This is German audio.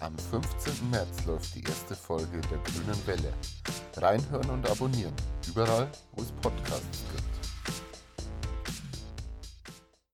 Am 15. März läuft die erste Folge der Grünen Welle. Reinhören und abonnieren, überall, wo es Podcasts gibt.